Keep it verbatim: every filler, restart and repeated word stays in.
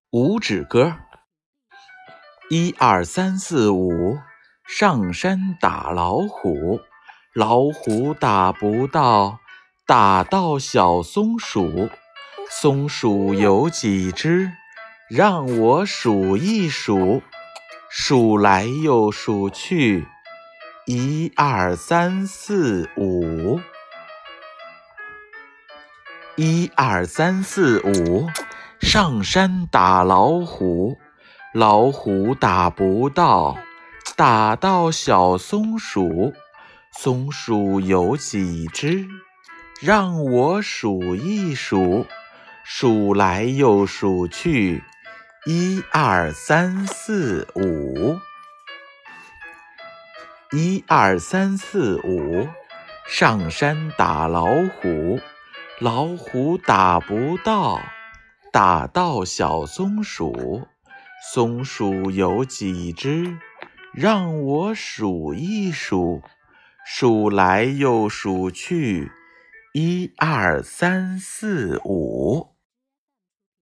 五指歌，一二三四五，上山打老虎，老虎打不到，打到小松鼠。松鼠有几只？让我数一数，数来又数去，一二三四五。一二三四五，上山打老虎，老虎打不到，打到小松鼠。松鼠有几只？让我数一数，数来又数去，一二三四五。一二三四五，上山打老虎，老虎打不到，打到小松鼠。松鼠有几只？让我数一数，数来又数去，一二三四五。